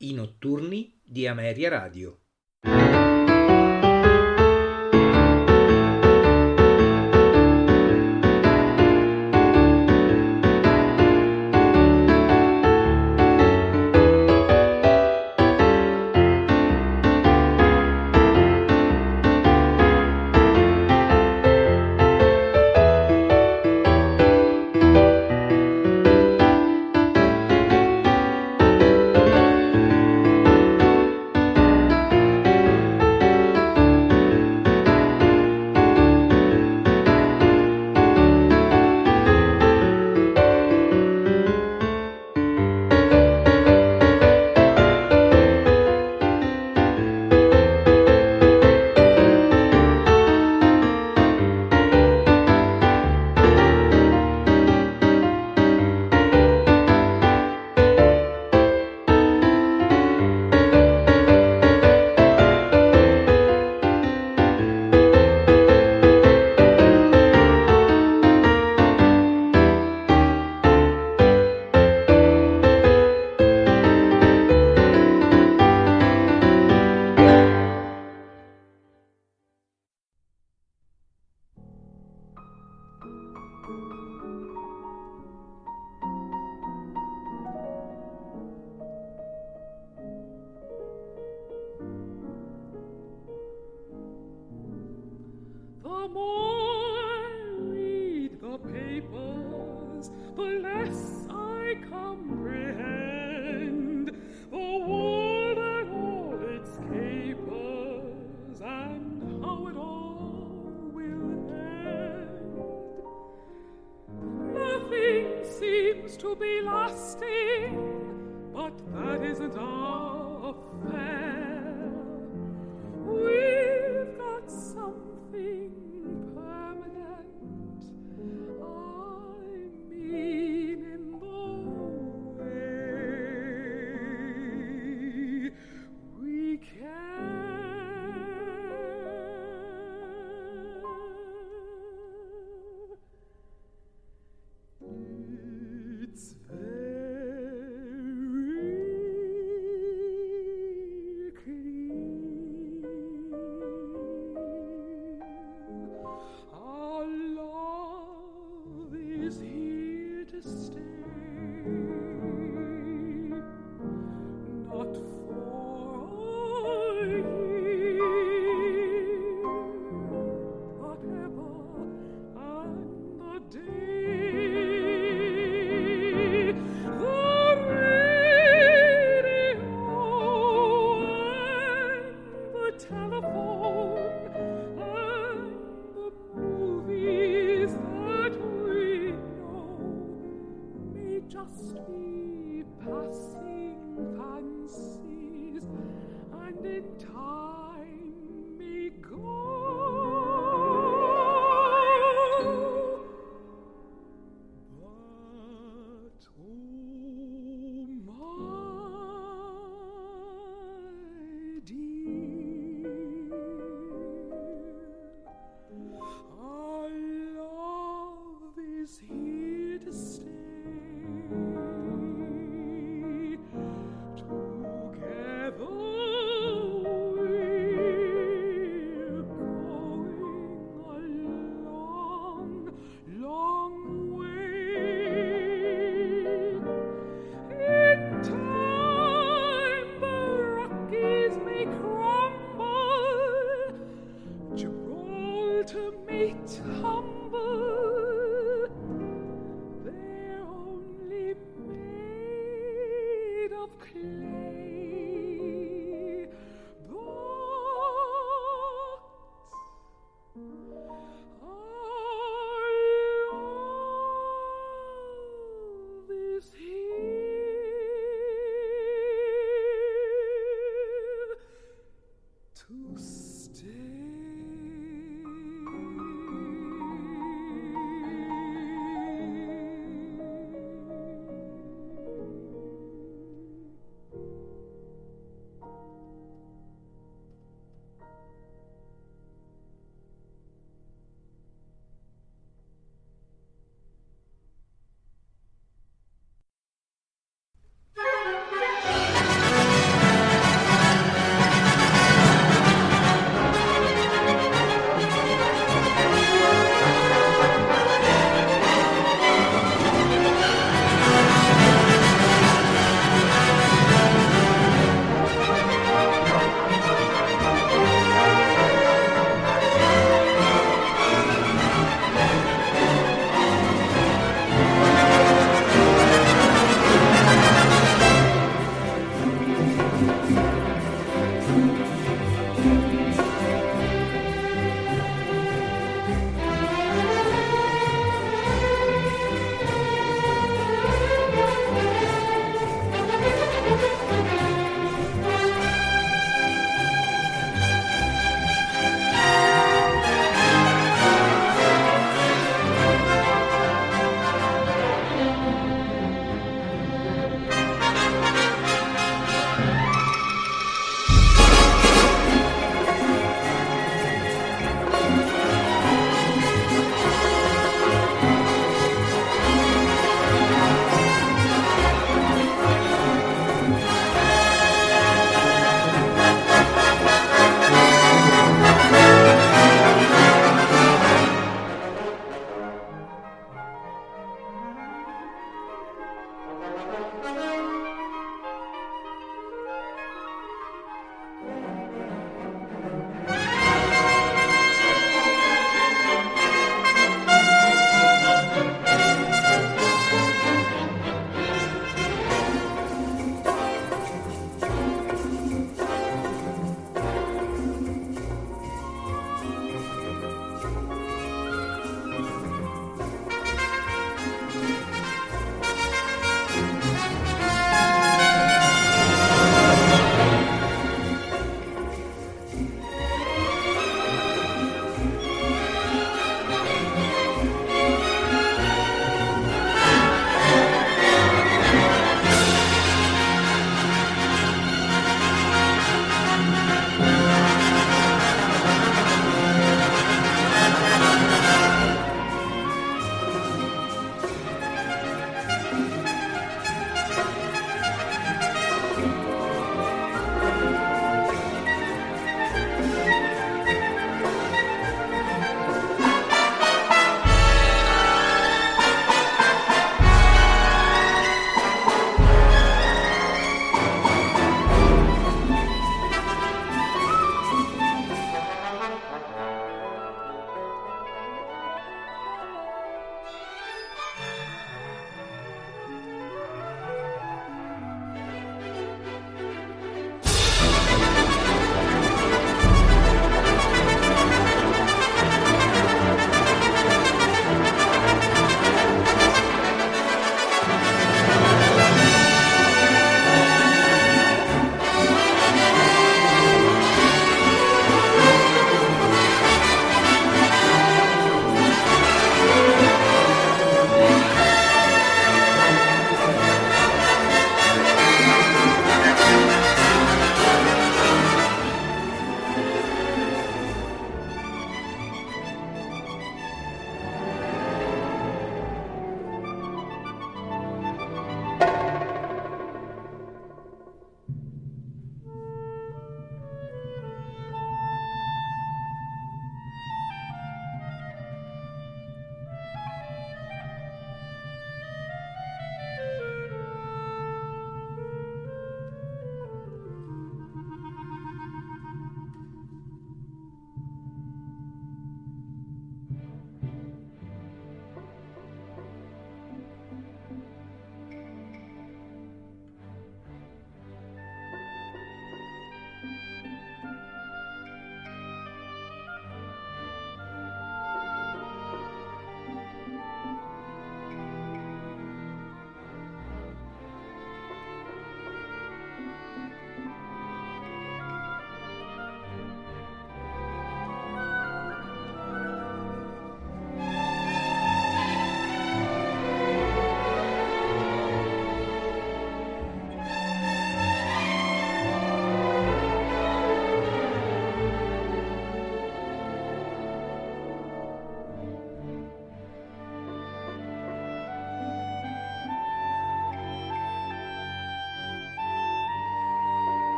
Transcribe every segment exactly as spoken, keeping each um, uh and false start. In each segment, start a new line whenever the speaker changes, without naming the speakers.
I notturni di Ameria Radio.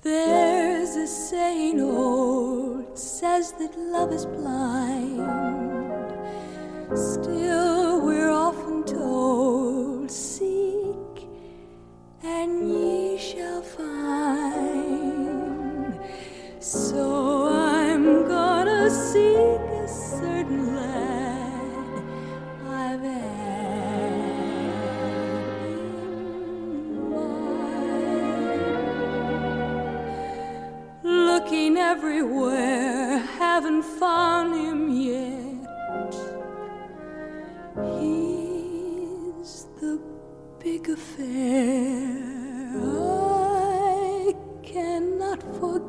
There's a saying old says that love is blind. Still we're often told, seek and ye shall find. So I'm gonna seek a certain lad I've had in mind. Looking everywhere, haven't found him yet. He's the big affair I cannot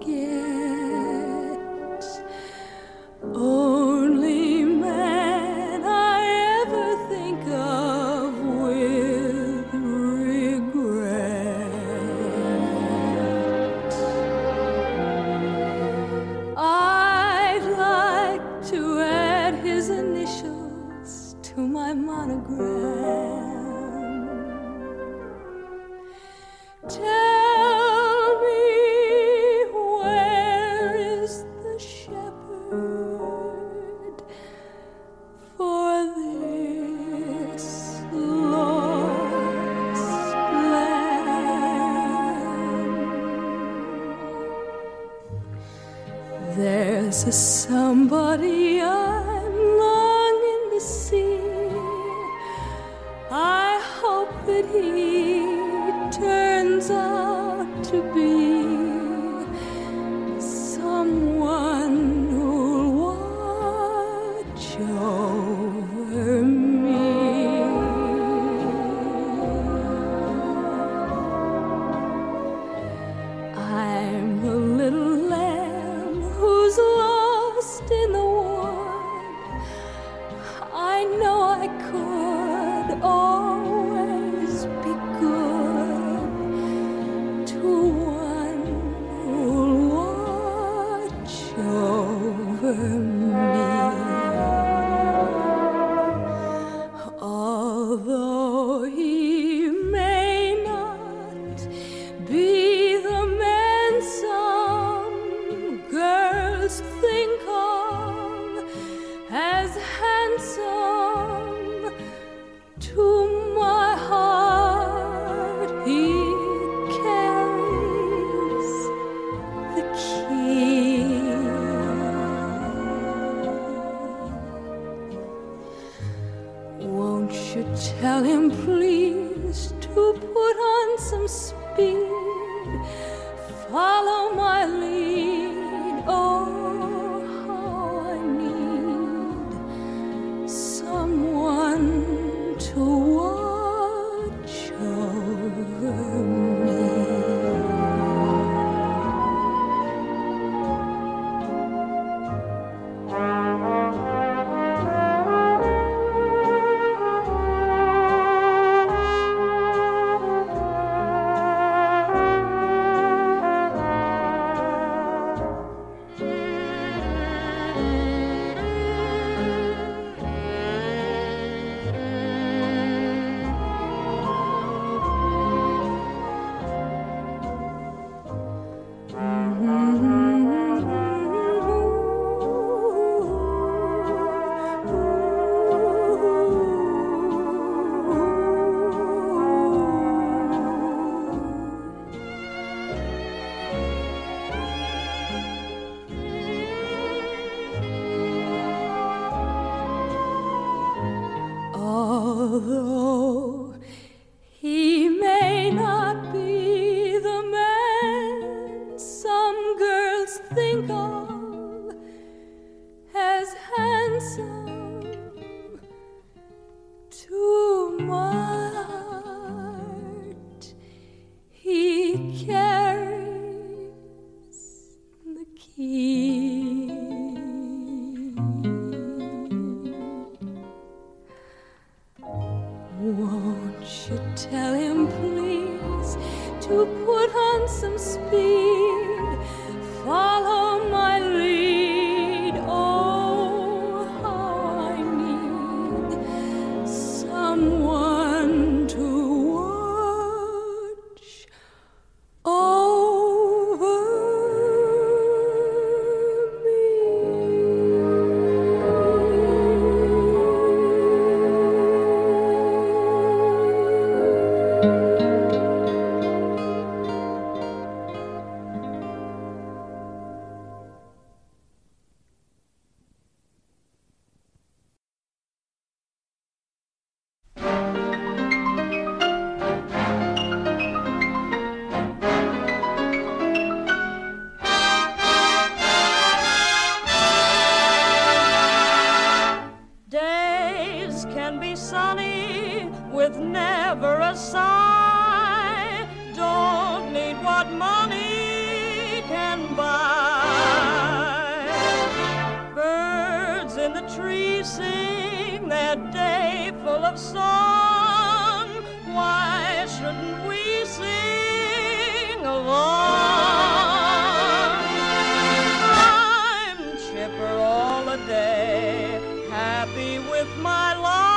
forget. Only man I ever think of with regret. I'd like to add his initials to my monogram. Tell me, where is the shepherd for this lost lamb? There's a somebody I'm longing to see. I hope that he turns out to be someone who'll watch over me. I'm the little lamb who's lost in the wood. I know I could always be good to one who'll watch over me. Although he may not be the man some girls think of as handsome, to my heart he carries the key. Won't you tell him please to put on some speed, follow my lead. Oh, how I need someone to watch over me. Although he may not be the man some girls think of as handsome, to my heart he carries the key. Won't you tell him please to put on some speed, follow my by. Birds in the trees sing their day full of song. Why shouldn't we sing along? I'm chipper all the day, happy with my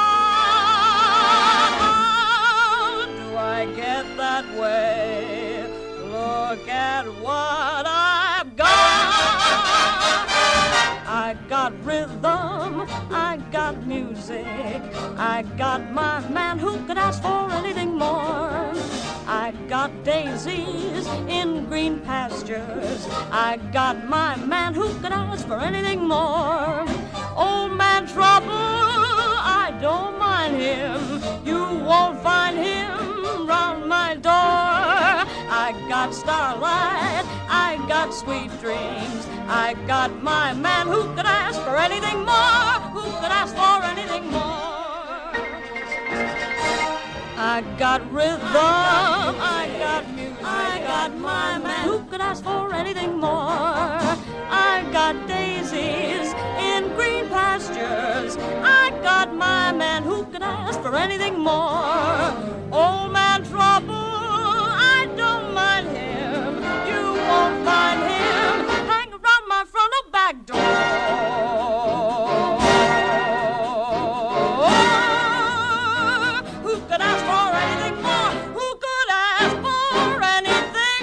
lot. How do I get that way? Look at what I've got. I got rhythm, I got music, I got my man who could ask for anything more. I got daisies in green pastures, I got my man who could ask for anything more. Old man Trouble, I don't mind him, you won't find him round my door. I got starlight, I got sweet dreams, I got my man who could ask for anything more, who could ask for anything more. I got rhythm, I got music, I got my man who could ask for anything more. I got daisies in green pastures, I got my man who could ask for anything more. Old man Trouble, I don't mind him, you won't find him hang around my front or back door. Who could ask for anything more? Who could ask for anything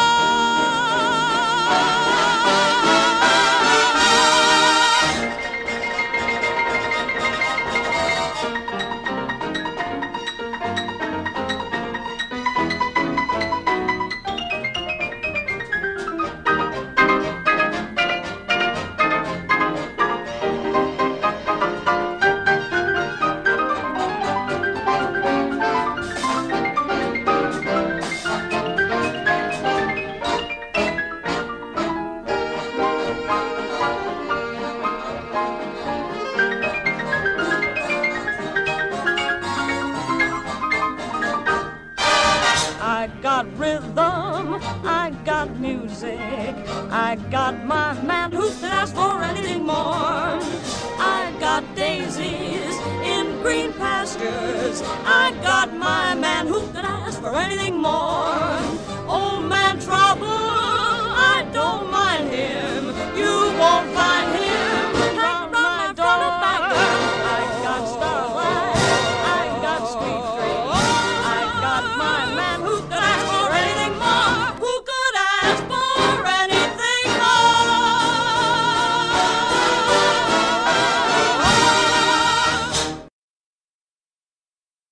I got rhythm, I got music, I got my man who could ask for anything more. I got daisies in green pastures, I got my man who could ask for anything more. Old man Trouble, I don't mind him, you won't find him hang round my door. I got starlight, I got sweet dreams, I got my man who could ask for anything more, who could ask for anything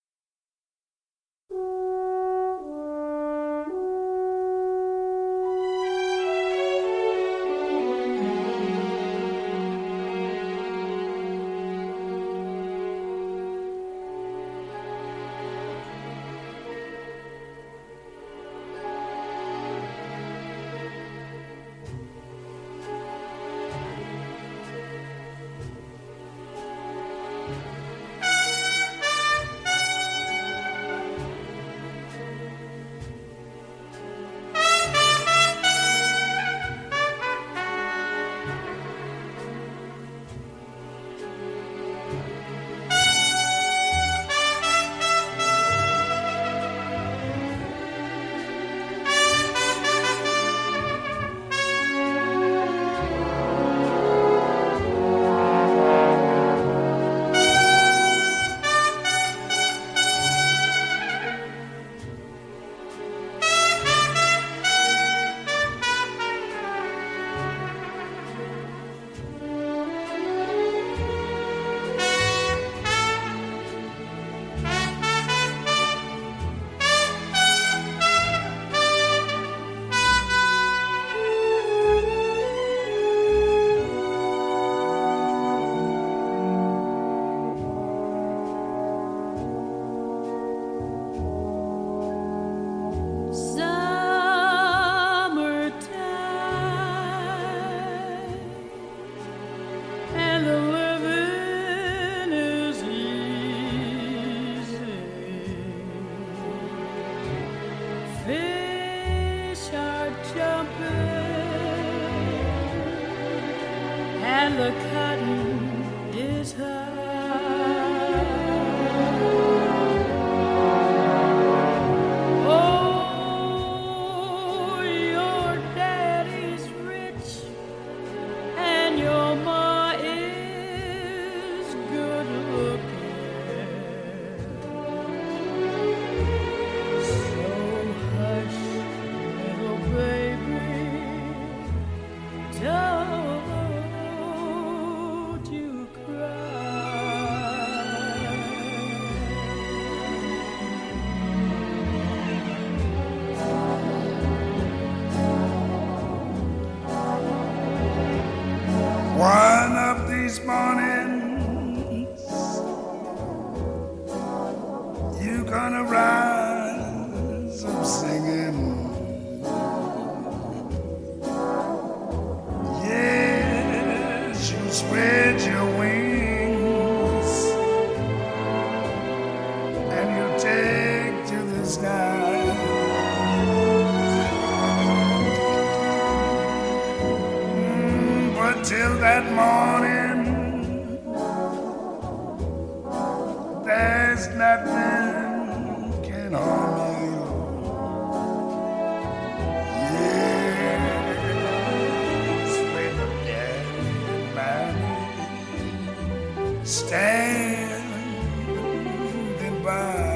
more. and the cotton is high. Oh, your daddy's rich and your ma is good looking. So hush, little baby, don't you
One of these mornings, you're gonna rise up singing. Yes, you spread your wings and you take to the sky. Till that morning, there's nothing can harm you. Yes, with daddy and mommy standing by.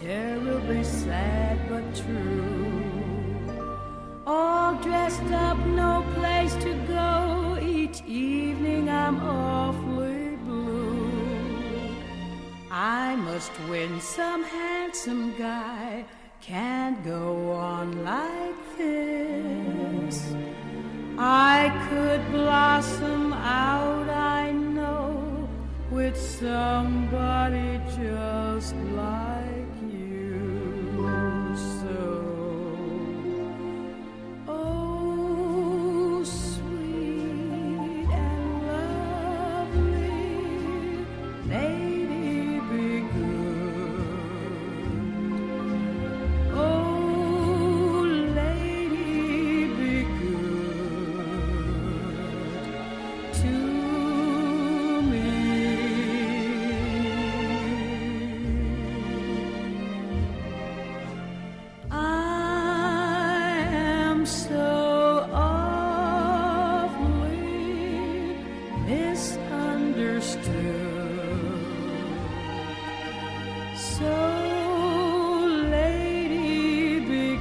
terribly sad but true. All dressed up, no place to go. Each evening I'm awfully blue. I must win some handsome guy. Can't go on like this. I could blossom out, I know, with somebody just like you. So, oh, sweet and lovely lady, be good. Oh, lady, be good to me. I am so awfully misunderstood. So, lady, be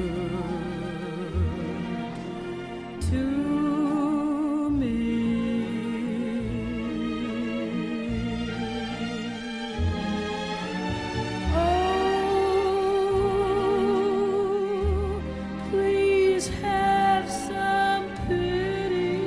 good to me. Oh, please have some pity.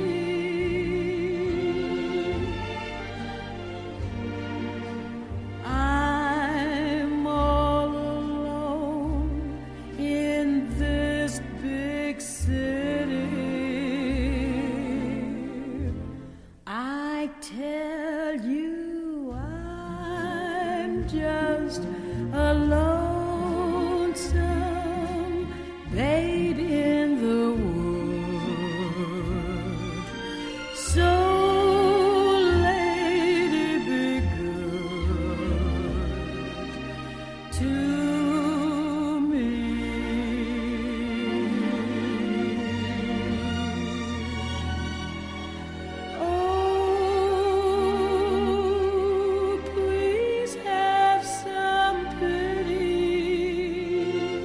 I'm all alone in this big city. I tell you, I'm just a lonesome babe in the wood. So, lady, be good to me. Oh, please have some pity.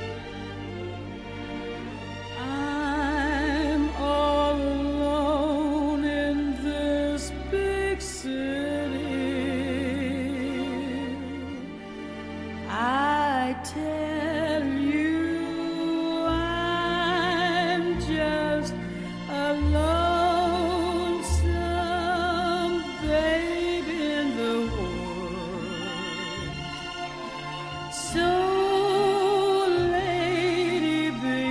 I'm all alone in this big city. I tell you, I'm just a lonesome babe in the woods. So, lady, be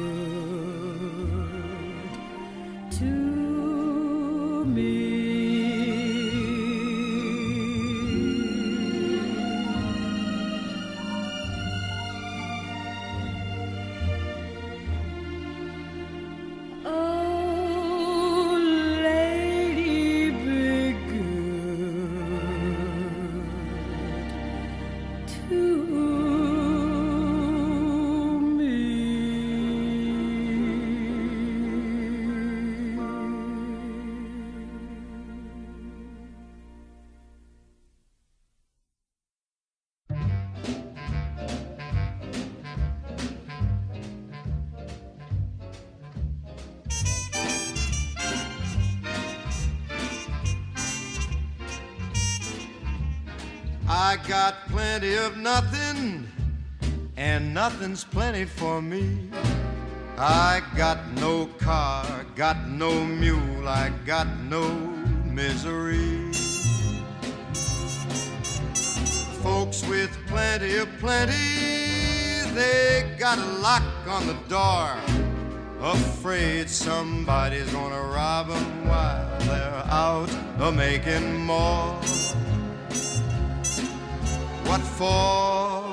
good to me. Oh, lady, be good to
I got plenty of nothing, and nothing's plenty for me. I got no car, got no mule, I got no misery. Folks with plenty of plenty, they got a lock on the door, afraid somebody's gonna rob them while they're out a-making more. What for?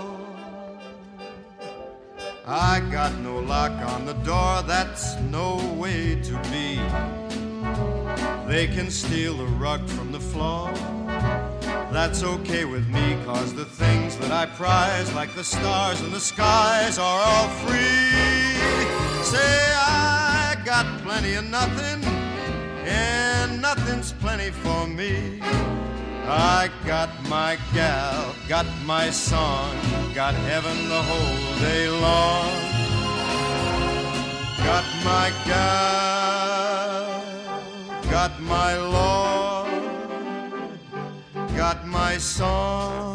I got no lock on the door, that's no way to be. They can steal the rug from the floor, that's okay with me, 'cause the things that I prize, like the stars in the skies, are all free. Say I got plenty of nothing, and nothing's plenty for me. I got my gal, got my song, got heaven the whole day long. Got my gal, got my Lord, got my song.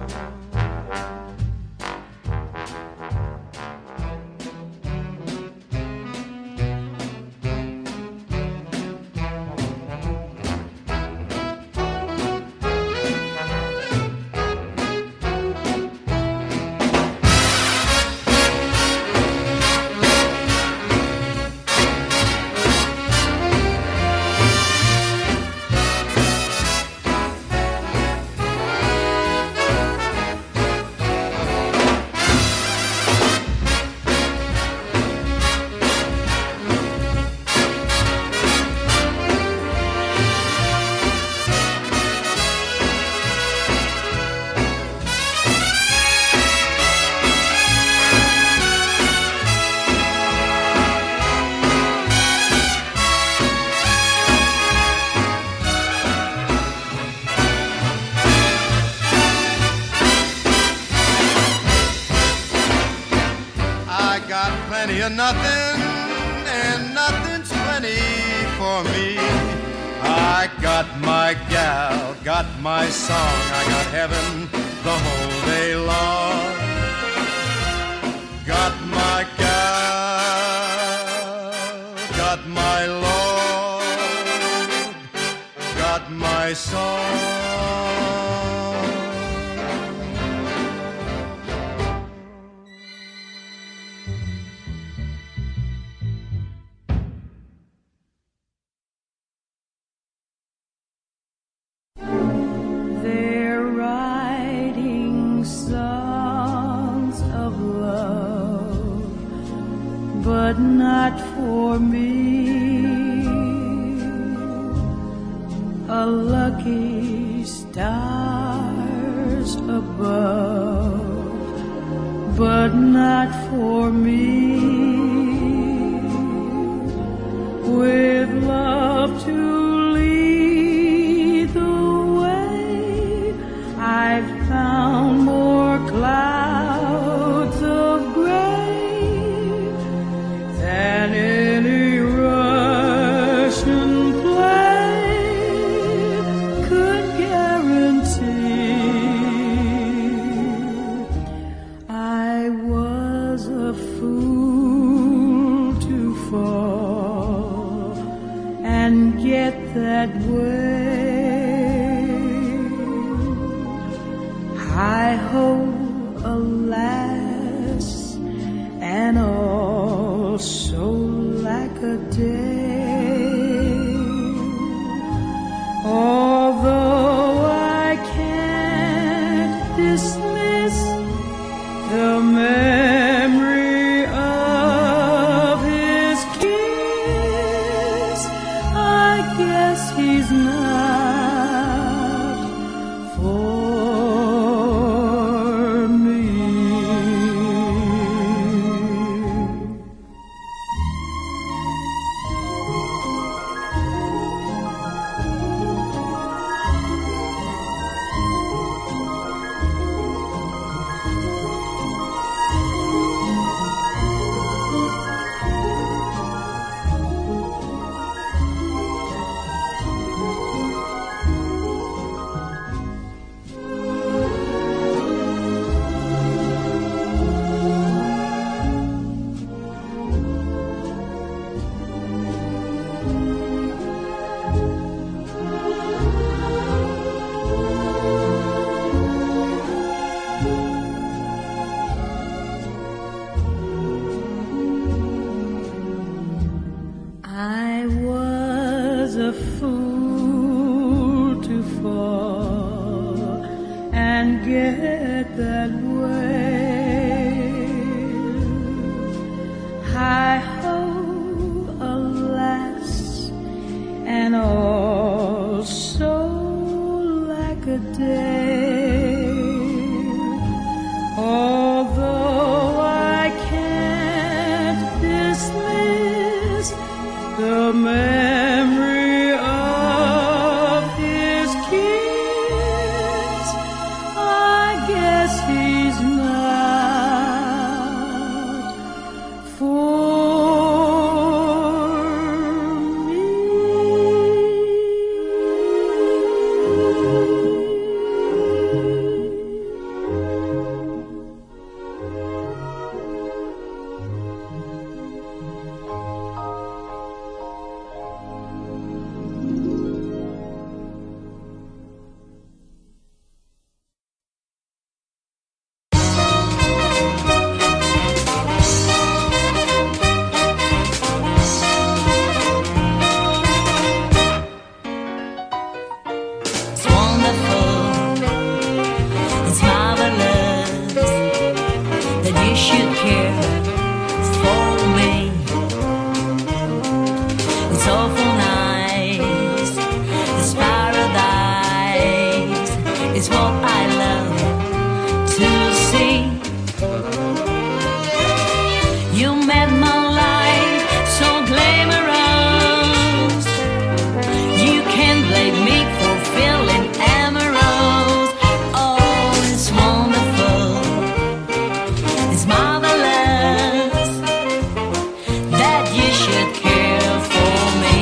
Nothing and nothing's plenty for me. I got my gal, got my song, I got heaven the whole day long. Got my gal, got my Lord, got my song.
But not for me, a lucky stars above, but not for me, with love to lead the way. I've found more clouds of gray than any Russian play could guarantee. I was a fool to fall and get that way. I hope, alas, and all so like a day. Although I can't dismiss the memory of his kiss, I guess he's not for me.
you should care for me. It's awful nice, this paradise is what I love to see. You made my life so glamorous. You can't blame me for feeling amorous. Oh, it's wonderful, it's marvelous that you should care for me.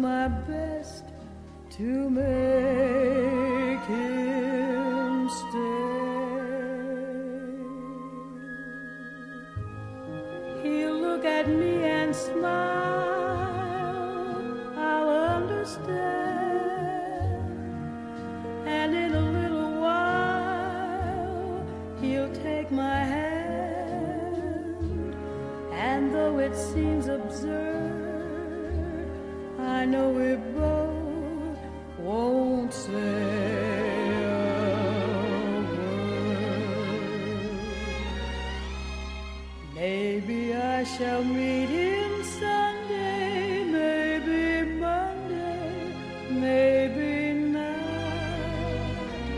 my best to make him stay. He'll look at me and smile, I'll understand, and in a little while he'll take my hand, and though it seems absurd, I know we both won't say a word. Maybe I shall meet him Sunday, maybe Monday, maybe not.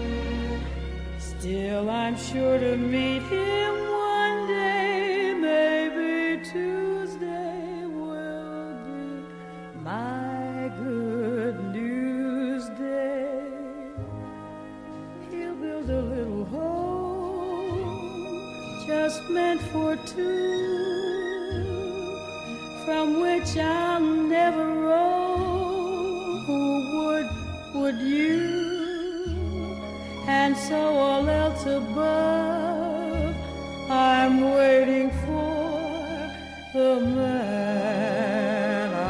Still I'm sure to meet him one day, maybe Tuesday will be my good news day. He'll build a little home just meant for two, from which I'll never roam. Who would, would you? And so all else above, I'm waiting for the man I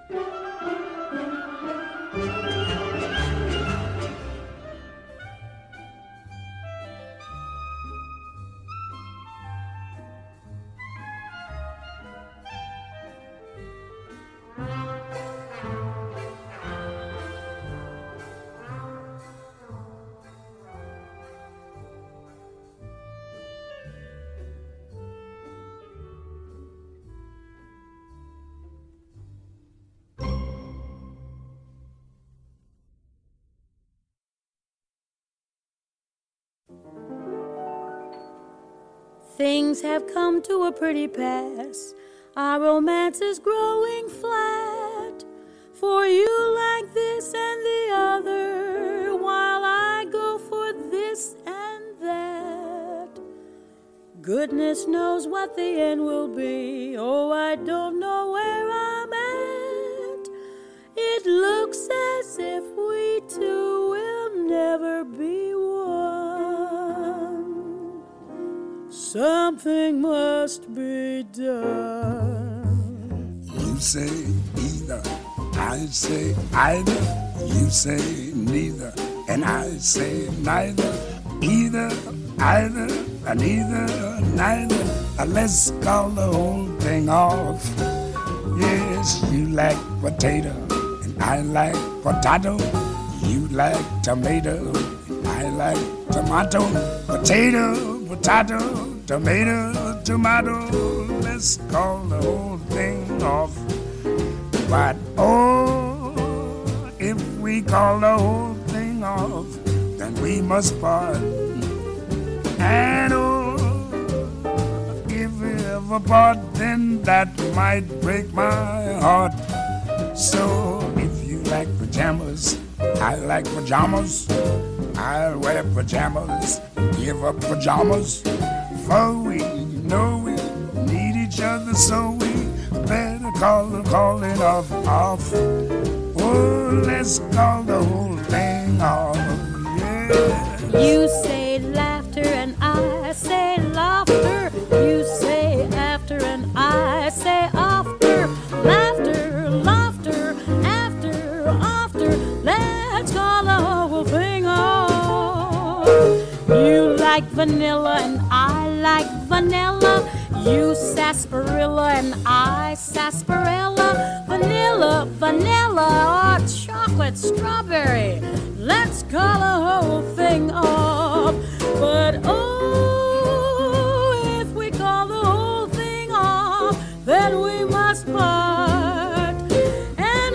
Things have come to a pretty pass. Our romance is growing flat. For you like this and the other, while I go for this and that. Goodness knows what the end will be. Oh, I don't know where I'm at. It looks as if we two will never be one. Something must be done.
You say either, I say either. You say neither, and I say neither. Either, either, and either, neither. Uh, Let's call the whole thing off. Yes, you like potato, and I like potato. You like tomato, and I like tomato. Potato, potato, tomato, tomato. Let's call the whole thing off. But oh, if we call the whole thing off, then we must part. And oh, if we ever part, then that might break my heart. So if you like pajamas, I like pajamas. I'll wear pajamas, give up pajamas. For we know we need each other, so we better call the calling off, off. Oh, let's call the whole thing off, yeah.
You say laughter and I say laughter. You say after and I say after. Laughter, laughter, after, after. Let's call the whole thing off. You like vanilla and I like vanilla. You sarsaparilla and I sarsaparilla. Vanilla, vanilla, or chocolate strawberry. Let's call the whole thing off. But oh, if we call the whole thing off, then we must part. And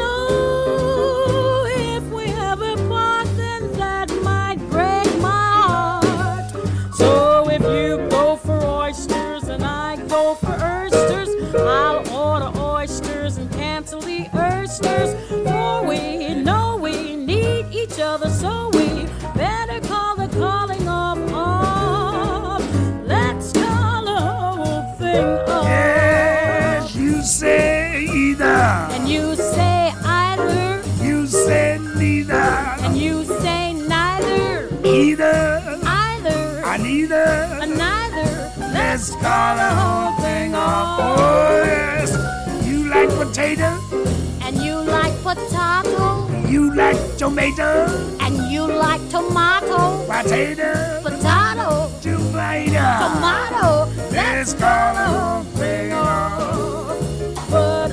oh, if we ever part, then that might break my heart. So if you go for oysters and I go for oysters, I'll order oysters and cancel the oysters. For we know we need each other, so we better call the calling off off. Let's call the whole thing off.
Yes, you say either,
And you say either,
you say neither,
and you say neither,
either,
either,
and neither.
and neither.
Let's call the whole thing off. Oh yes, you like potato,
And you like potato,
you like tomato,
and you like tomato,
potato,
potato,
tomato.
tomato.
Let's call the whole thing off.
But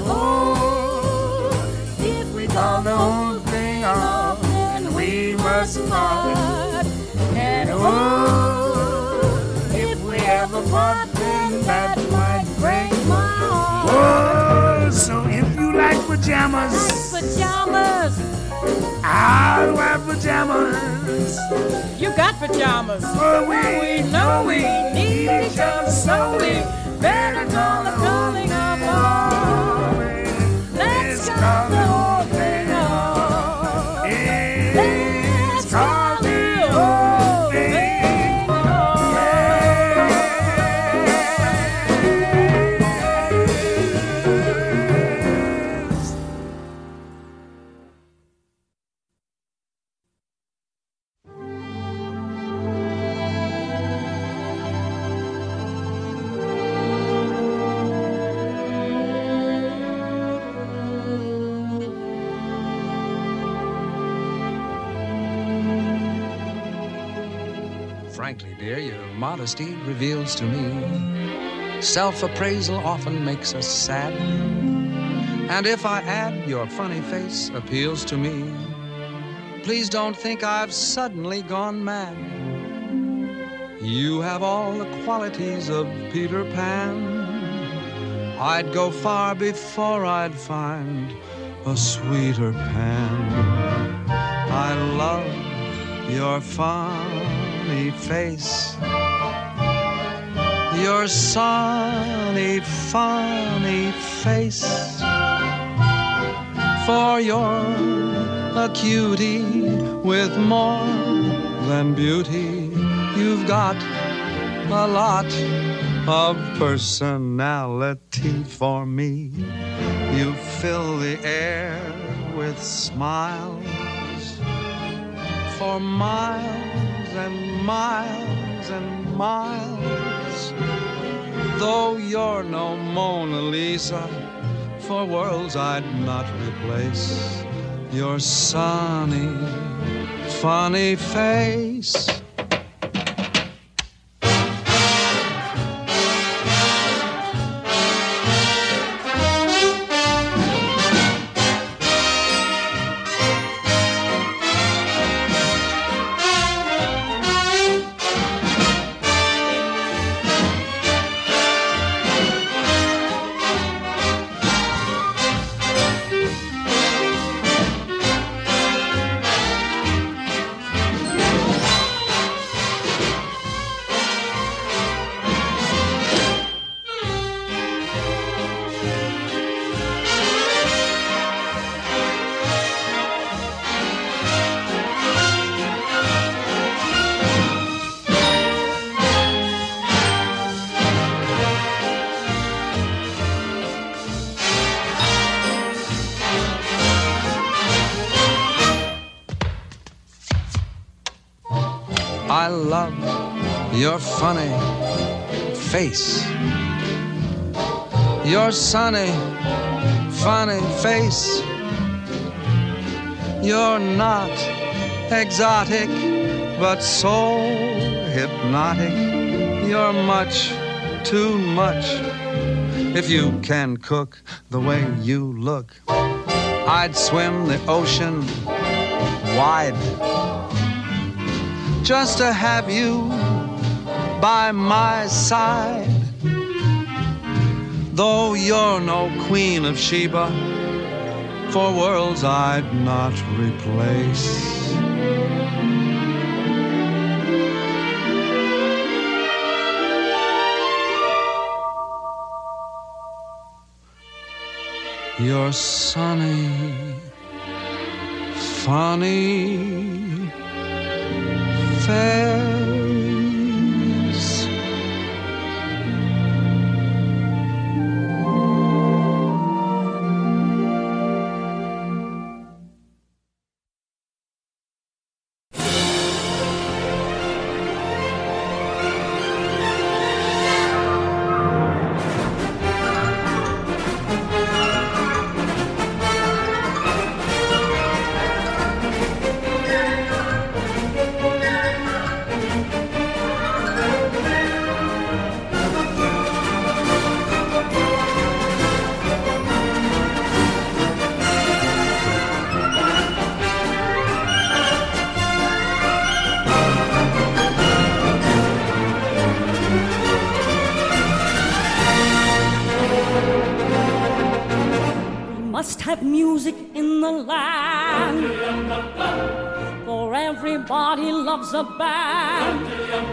Oh,
if we
call the whole thing off,
then
we must part.
part. And
Oh, if we ever part, then that might break
my heart.
Oh, so if you like
Like
pajamas,
pajamas,
I'll wear pajamas.
you got pajamas.
For we
We know we need each other, so we better call the calling off. Let's call the whole thing off.
Let's call the whole thing
off.
frankly, dear, your modesty reveals to me self-appraisal often makes us sad. And if I add your funny face appeals to me, please don't think I've suddenly gone mad. You have all the qualities of Peter Pan. I'd go far before I'd find a sweeter Pan. I love your funny face, your sunny, funny face. For you're a cutie with more than beauty. You've got a lot of personality for me. You fill the air with smiles for miles and miles and miles. Though you're no Mona Lisa, for worlds I'd not replace your sunny, funny face. I love your funny face, your sunny, funny face. You're not exotic, but so hypnotic. You're much too much. If you can cook the way you look, I'd swim the ocean wide just to have you by my side. Though you're no Queen of Sheba, for worlds I'd not replace. Your sunny, funny face.
Must have music in the land, for everybody loves a band.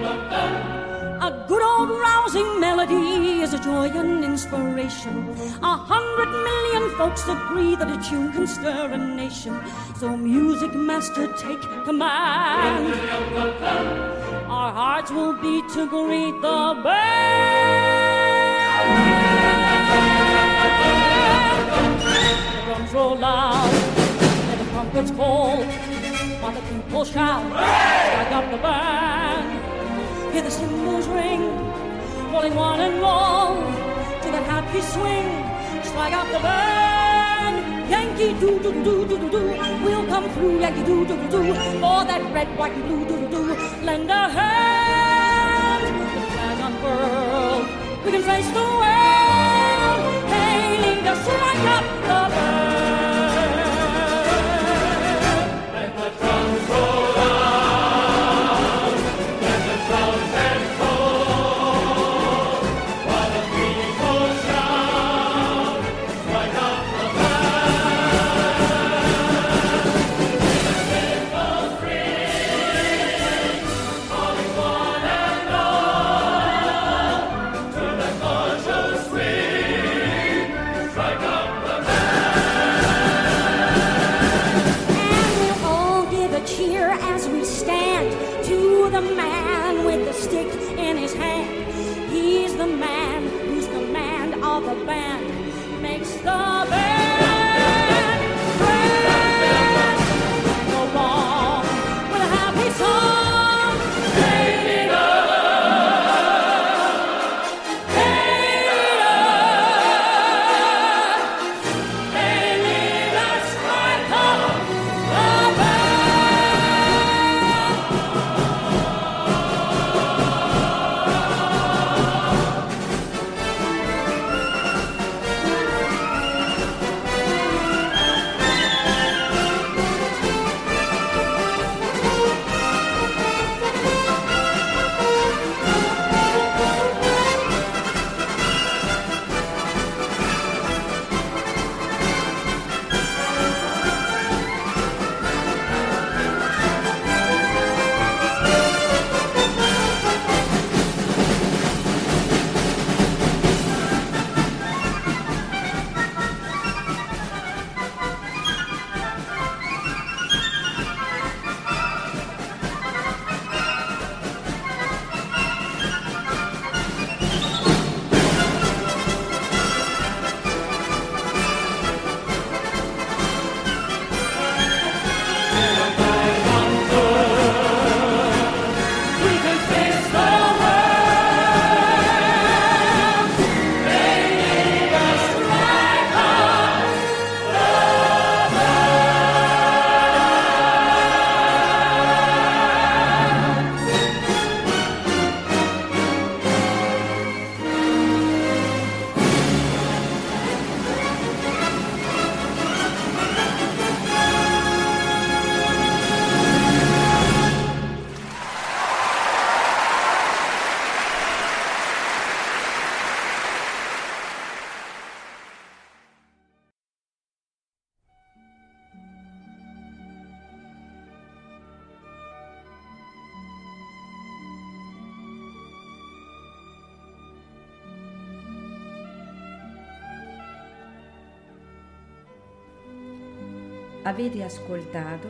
A good old rousing melody is a joy and inspiration. A hundred million folks agree that a tune can stir a nation. So music master, take command. Our hearts will beat to greet the band. Drums roll loud, and the trumpets call, while the people shout, strike up the band. Hear the cymbals ring, rolling one and all, to that happy swing, strike up the band. Yankee do-do-do-do-do-do, we'll come through, Yankee do-do-do-do, for that red, white, and blue do-do-do, lend a hand. we can face the world. Hey, lead us right up the band. Let the drums roll out, let the trumpets call, while the people shout, strike up the band. Let the bells ring, calling one and all, to the gorgeous swing, strike up the band. And we'll all give a cheer as we stand to the man with the stick in his hand. He's the man whose command of the band makes the band grand. Go on with a happy song. Hey, leader. Hey, leader. Hey, leader, strike up the
Avete ascoltato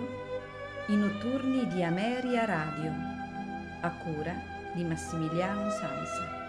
I notturni di Ameria Radio, a cura di Massimiliano Sansa.